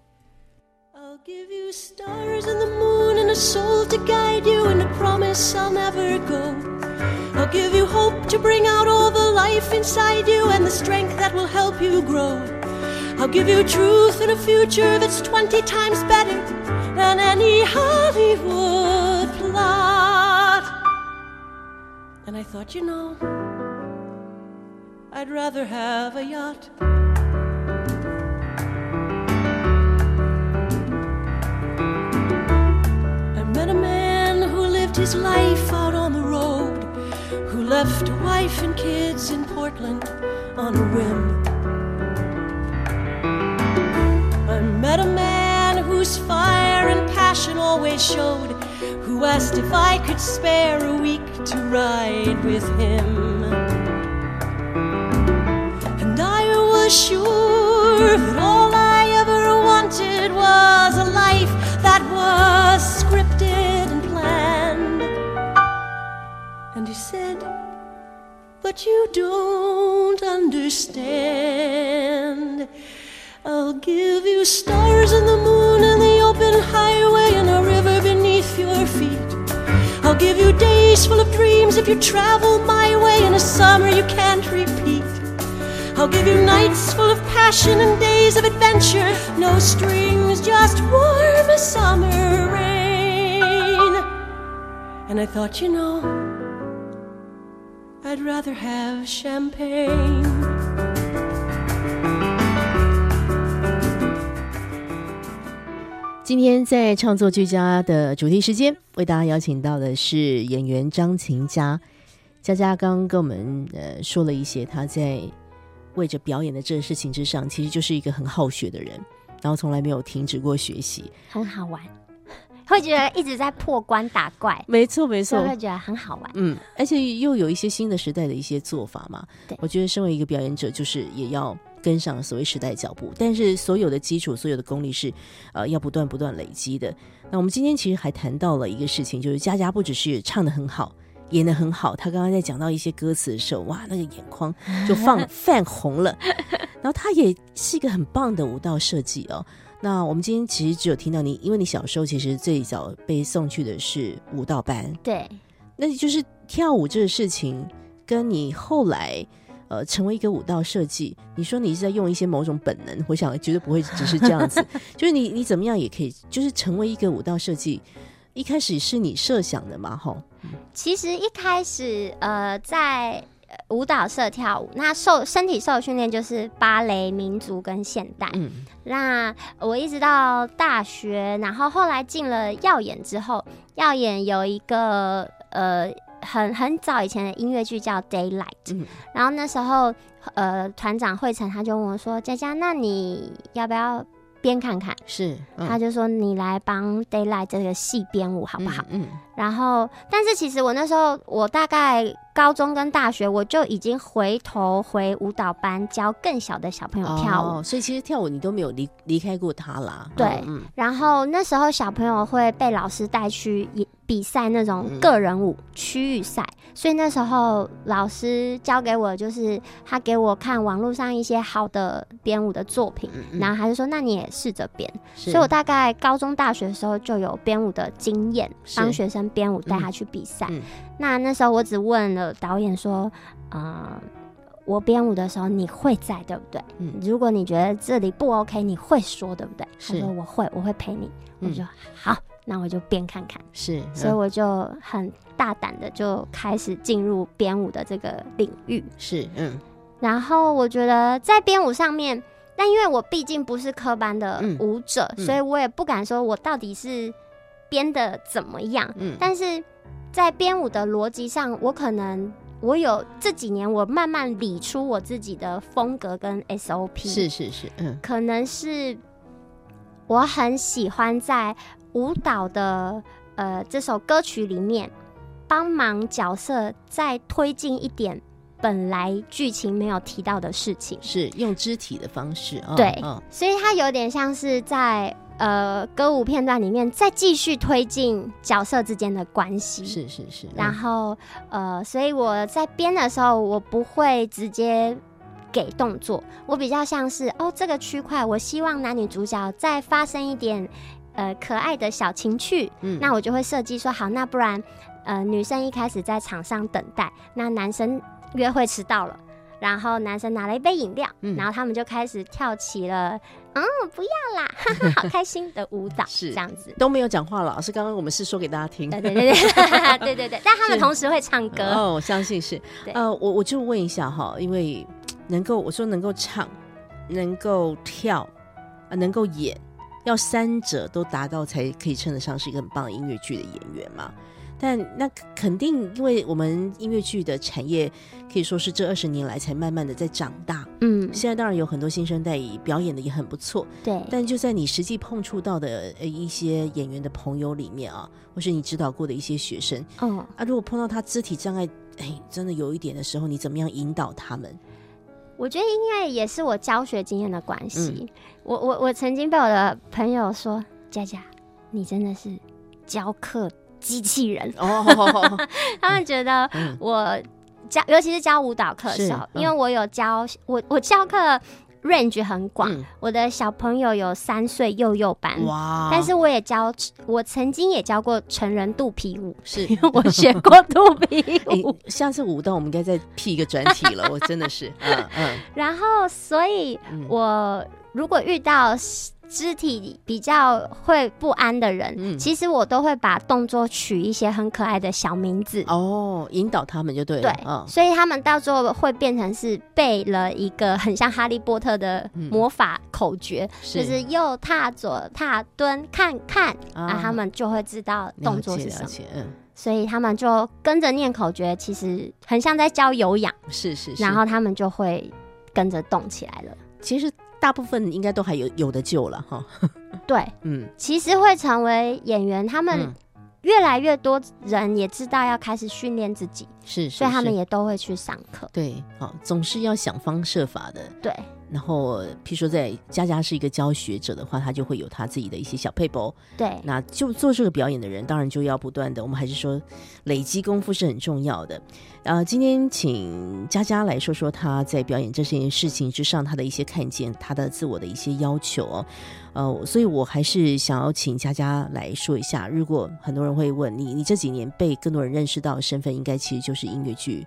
Give you stars and the moon and a soul to guide you and a promise I'll never go. I'll give you hope to bring out all the life inside you and the strength that will help you grow. I'll give you truth and a future that's twenty times better than any Hollywood plot. And I thought, you know, I'd rather have a yacht.Met a man who lived his life out on the road, who left a wife and kids in Portland on a whim. I met a man whose fire and passion always showed, who asked if I could spare a week to ride with him. And I was sure that all I ever wanted was a life that was scripted and planned. And he said, but you don't understand. I'll give you stars and the moon and the open highway and a river beneath your feet. I'll give you days full of dreams if you travel my way and a summer you can't repeat. I'll give you nights full of passion and days of adventure, no strings, just warm as summer rain. And I thought, you know, I'd rather have champagne. 今天在创作俱佳的主题时间，为大家邀请到的是演员张琴佳。佳佳刚刚跟我们呃说了一些她在为着表演的这个事情之上，其实就是一个很好学的人，然后从来没有停止过学习， 很好玩，会觉得一直在破关打怪。 没错没错， 会觉得很好玩。 嗯，而且又有一些新的时代的一些做法嘛。对，我觉得身为一个表演者，就是也要跟上所谓时代脚步，但是所有的基础所有的功力是呃要不断不断累积的。那我们今天其实还谈到了一个事情，就是佳佳不只是唱得很好，演得很好，他刚刚在讲到一些歌词的时候，哇，那个眼眶就放泛红了。然后他也是一个很棒的舞蹈设计哦。那我们今天其实只有听到你，因为你小时候其实最早被送去的是舞蹈班， 对， 那就是跳舞这个事情跟你后来呃成为一个舞蹈设计，你说你是在用一些某种本能，我想绝对不会只是这样子，就是你你怎么样也可以，就是成为一个舞蹈设计。一开始是你设想的嘛？吼， 其实一开始呃在舞蹈社跳舞，那受身体受训练就是芭蕾、民族跟现代。嗯，那我一直到大学，然后后来进了耀眼之后，耀眼有一个呃很很早以前的音乐剧叫 Daylight，嗯，然后那时候呃团长惠成他就问我说：“佳佳，那你要不要编看看？” 是， 嗯，他就说：“你来帮 Daylight 这个戏编舞好不好？” 嗯，嗯然后，但是其实我那时候，我大概高中跟大学，我就已经回头回舞蹈班教更小的小朋友跳舞， 哦，所以其实跳舞你都没有离离开过他啦。 对，嗯，然后那时候小朋友会被老师带去比赛那种个人舞、嗯、区域赛，所以那时候老师教给我就是他给我看网络上一些好的编舞的作品，嗯嗯，然后他就说那你也试着编，所以我大概高中大学的时候就有编舞的经验，帮学生编舞带他去比赛，嗯嗯，那那时候我只问了导演说呃我编舞的时候你会在对不对，嗯，如果你觉得这里不 OK 你会说对不对，他说我会，我会陪你，嗯，我就说好，那我就编看看， 是，嗯， 所以我就很大胆的就开始进入编舞的这个领域， 是，嗯， 然后我觉得在编舞上面，但因为我毕竟不是科班的舞者，嗯，所以我也不敢说我到底是编的怎么样，嗯，但是在编舞的逻辑上，我可能我有这几年我慢慢理出我自己的风格跟 S O P， 是是是，嗯， 可能是我很喜欢在舞蹈的呃这首歌曲里面帮忙角色再推进一点本来剧情没有提到的事情， 是用肢体的方式，哦， 对， 哦， 所以它有点像是在呃歌舞片段里面再继续推进角色之间的关系， 是是是，嗯， 然后呃所以我在编的时候我不会直接给动作，我比较像是哦这个区块我希望男女主角再发生一点呃可爱的小情趣，嗯，那我就会设计说好，那不然呃女生一开始在场上等待，那男生约会迟到了，然后男生拿了一杯饮料，嗯，然后他们就开始跳起了嗯不要啦哈哈好开心的舞蹈，是这样子， 都没有讲话了，老师刚刚我们是说给大家听， 对对对对对对对，但他们同时会唱歌哦，我相信是，呃我我就问一下哈，因为能够我说能够唱能够跳，呃、能够演，要三者都达到才可以称得上是一个很棒的音乐剧的演员嘛。但那肯定因为我们音乐剧的产业可以说是这二十年来才慢慢的在长大，嗯，现在当然有很多新生代表演的也很不错， 对， 但就在你实际碰触到的一些演员的朋友里面啊，或是你指导过的一些学生，嗯啊，如果碰到他肢体障碍哎真的有一点的时候，你怎么样引导他们？ 我觉得因为也是我教学经验的关系，嗯，我我我曾经被我的朋友说，佳佳你真的是教课机器人哦，他们觉得我教，尤其是教舞蹈课的时候，嗯，因为我有教我我教课 range 很广，嗯，我的小朋友有三岁幼幼班，哇！但是我也教，我曾经也教过成人肚皮舞，是我学过肚皮舞。 欸，下次舞蹈我们应该再辟一个专题了，我真的是，嗯嗯。 然后，所以我如果遇到肢体比较会不安的人，嗯，其实我都会把动作取一些很可爱的小名字哦，引导他们就对了。 对，哦，所以他们到最后会变成是背了一个很像哈利波特的魔法口诀，嗯，就是右踏左踏蹲看看，啊，啊他们就会知道动作是什么。嗯，所以他们就跟着念口诀，其实很像在教有氧， 是是是， 然后他们就会跟着动起来了。 其实大部分应该都还有有的救了哈。 对，嗯，其实会成为演员，他们越来越多人也知道要开始训练自己， 是， 所以他们也都会去上课。 对，好，总是要想方设法的。 对。 然后譬如说在佳佳是一个教学者的话，他就会有他自己的一些小配博， 对， 那就做这个表演的人当然就要不断的，我们还是说累积功夫是很重要的。呃，今天请佳佳来说说他在表演这件事情之上他的一些看见，他的自我的一些要求哦。呃，所以我还是想要请佳佳来说一下，如果很多人会问你，你这几年被更多人认识到的身份应该其实就是音乐剧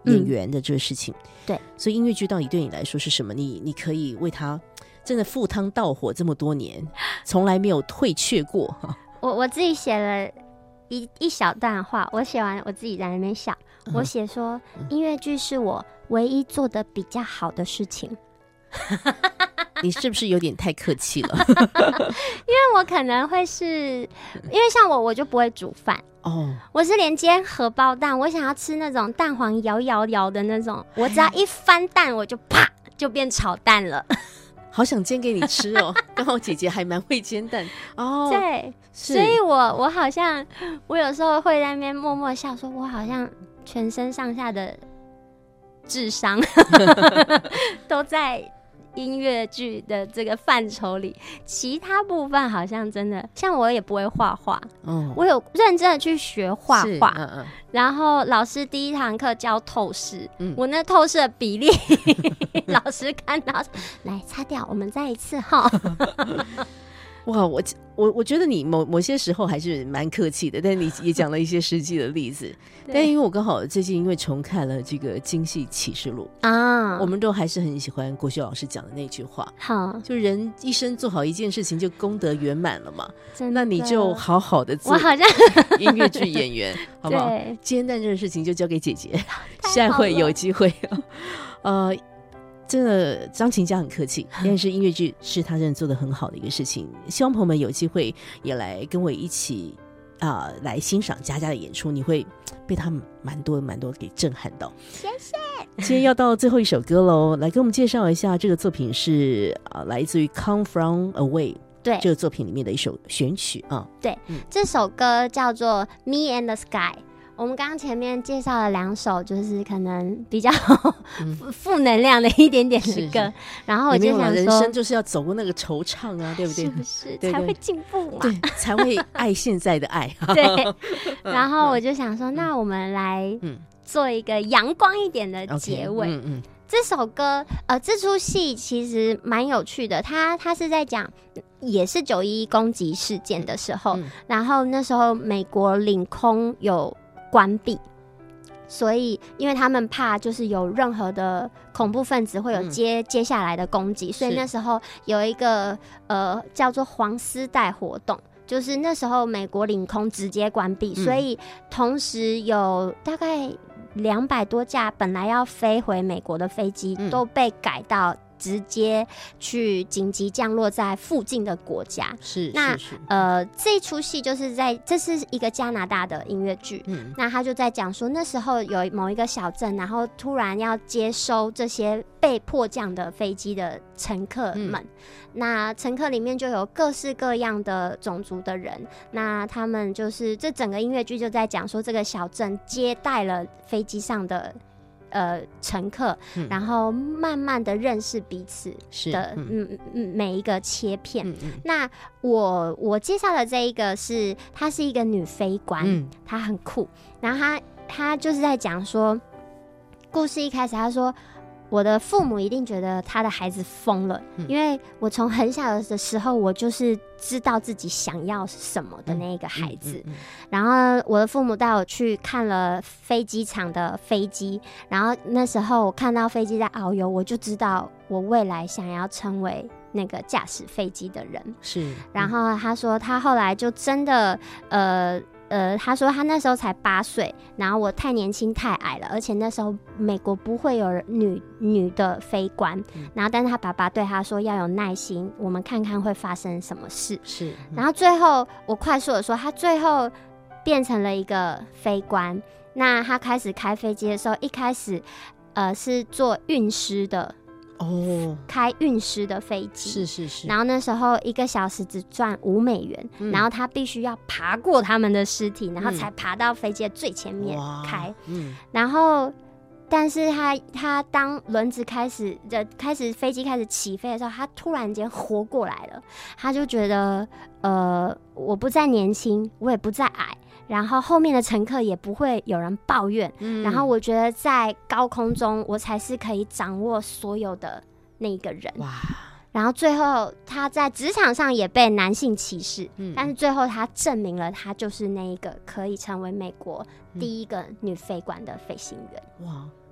演员的这个事情。 嗯、对， 所以音乐剧到底对你来说是什么？你你可以为它真的赴汤蹈火这么多年，从来没有退却过。 我我自己写了一一小段话，我写完我自己在那边笑。嗯、我写说，音乐剧是我唯一做的比较好的事情。 你是不是有点太客气了？ 因为我可能会是，因为像我，我就不会煮饭哦。我是连煎荷包蛋，我想要吃那种蛋黄摇摇摇的那种，我只要一翻蛋，我就啪就变炒蛋了。 好想煎给你吃哦！刚好姐姐还蛮会煎蛋哦。 对，所以我我好像我有时候会在那边默默笑，说我好像全身上下的智商都在音乐剧的这个范畴里，其他部分好像真的，像我也不会画画，嗯，我有认真的去学画画，嗯嗯，然后老师第一堂课教透视，嗯，我那透视的比例，老师看到，来擦掉，我们再一次哈。 哇，我我我觉得你某某些时候还是蛮客气的，但你也讲了一些实际的例子。但因为我刚好最近因为重看了这个《京戏启示录》啊，我们都还是很喜欢国修老师讲的那句话，好，就人一生做好一件事情就功德圆满了嘛。那你就好好的做， 我好像音乐剧演员，好不好？煎蛋这个事情就交给姐姐，下回有机会，呃。真的张琴家很客气，但是音乐剧是他真的做得很好的一个事情，希望朋友们有机会也来跟我一起啊、呃、来欣赏佳佳的演出，你会被他蛮多蛮多给震撼到。 谢谢。 今天要到最后一首歌喽，来给我们介绍一下这个作品是啊、呃、来自于 Come From Away 对这个作品里面的一首选曲啊。 对、嗯，这首歌叫做 Me and the Sky。我们刚刚前面介绍了两首，就是可能比较负能量的一点点的歌，嗯、然后我就想说， 人生就是要走过那个惆怅啊，对不对？ 是不是对对才会进步嘛？ 对，才会爱现在的爱。 对，然后我就想说，嗯、那我们来做一个阳光一点的结尾。Okay, 嗯嗯这首歌，呃，这出戏其实蛮有趣的，它它是在讲，也是九一一攻击事件的时候，嗯、然后那时候美国领空有关闭，所以因为他们怕就是有任何的恐怖分子会有接、嗯、接下来的攻击，所以那时候有一个呃叫做黄丝带活动，就是那时候美国领空直接关闭、嗯、所以同时有大概两百多架本来要飞回美国的飞机、嗯、都被改到直接去紧急降落在附近的国家。 是， 那是是呃，这一出戏就是在，这是一个加拿大的音乐剧。嗯，那他就在讲说，那时候有某一个小镇，然后突然要接收这些被迫降的飞机的乘客们。嗯、那乘客里面就有各式各样的种族的人。那他们就是这整个音乐剧就在讲说，这个小镇接待了飞机上的。呃，乘客、嗯，然后慢慢的认识彼此的，嗯嗯，每一个切片。嗯嗯、那我我介绍的这一个是，她是一个女飞官，嗯、她很酷。然后她她就是在讲说，故事一开始她说，我的父母一定觉得他的孩子疯了、嗯，因为我从很小的时候，我就是知道自己想要什么的那个孩子。嗯嗯嗯嗯、然后我的父母带我去看了飞机场的飞机，然后那时候我看到飞机在遨游，我就知道我未来想要成为那个驾驶飞机的人。是，嗯、然后他说他后来就真的呃。呃，他说他那时候才八岁，然后我太年轻太矮了，而且那时候美国不会有女女的飞官、嗯，然后但是他爸爸对他说要有耐心，我们看看会发生什么事。是，嗯、然后最后我快速的说，他最后变成了一个飞官。那他开始开飞机的时候，一开始呃是做运师的。哦，开运师的飞机是是是，然后那时候一个小时只赚五美元、嗯，然后他必须要爬过他们的尸体，然后才爬到飞机的最前面开。嗯，然后但是他他当轮子开始的开始飞机开始起飞的时候，他突然间活过来了，他就觉得呃我不再年轻，我也不再矮。然后后面的乘客也不会有人抱怨、嗯、然后我觉得在高空中我才是可以掌握所有的那一个人。哇！然后最后他在职场上也被男性歧视、嗯、但是最后他证明了他就是那一个可以成为美国第一个女飞官的飞行员。哇！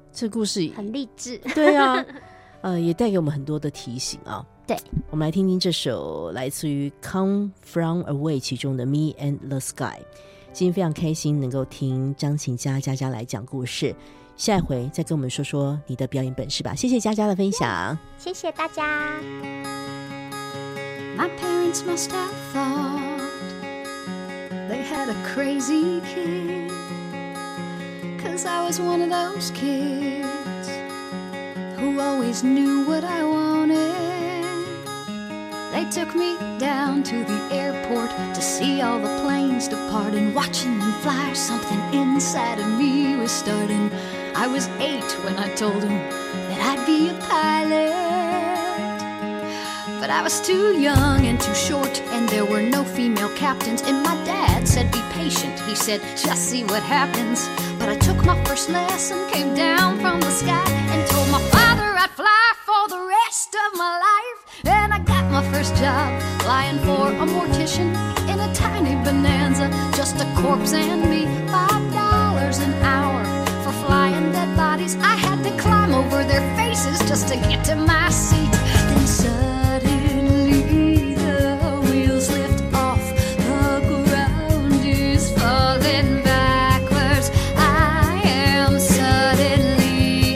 这故事很励志。 对啊，呃，也带给我们很多的提醒啊。 对， 我们来听听这首来自于 Come From Away 其中的 Me and the Sky。今天非常开心能够听张琴佳佳佳来讲故事，下一回再跟我们说说你的表演本事吧。谢谢佳佳的分享， 谢谢大家。 My parents must have thought they had a crazy kid, 'cause I was one of those kids who always knew what I wanted. They took me down to the airport to see all the planes depart, and watching them fly, something inside of me was starting. I was eight when I told them that I'd be a pilot, but I was too young and too short, and there were no female captains, and my dad said be patient. He said just see what happens. But I took my first lesson, came down from the sky, and told my father I'd fly for the rest of my life. And I got my first job flying for a mortician in a tiny Bonanza, just a corpse and me. Five dollars an hour for flying dead bodies. I had to climb over their faces just to get to my seat. Then suddenly the wheels lift off, the ground is falling backwards. I am suddenly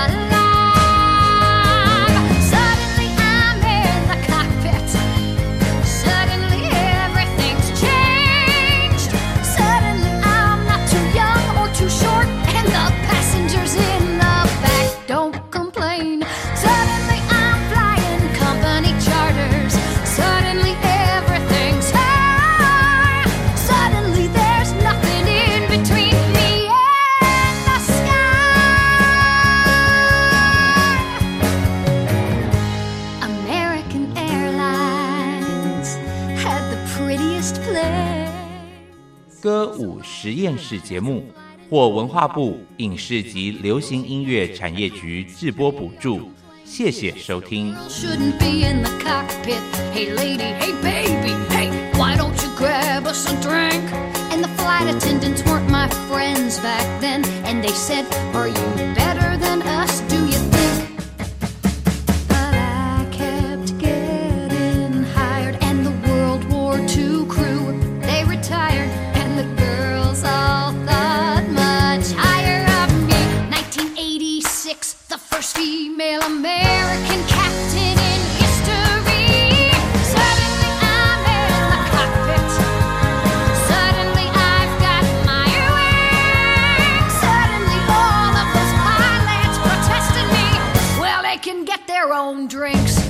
alive. Suddenly I'm in the cockpit. Suddenly everything's changed. Suddenly I'm not too young or too short, and the passengers in the back don't complain. Suddenly I'm flying company charters. Suddenly everything's high. Suddenly there's nothing in between me and the sky. American Airlines had the prettiest plane. 歌舞实验室节目获文化部影视及流行音乐产业局制播补助，谢谢收听。 Shouldn't be in the cockpit. Hey lady, hey baby, hey, why don't you grab us a drink? And the flight attendants weren't my friends back then, and they said, are you better than us, do you think? But I kept getting hired, and the World War Two crew, they retired, and the girls all thought much higher of me. nineteen eighty-six, the first female American captain in history. Suddenly I'm in the cockpit. Suddenly I've got my wings. Suddenly all of those pilots protesting me, well, they can get their own drinks.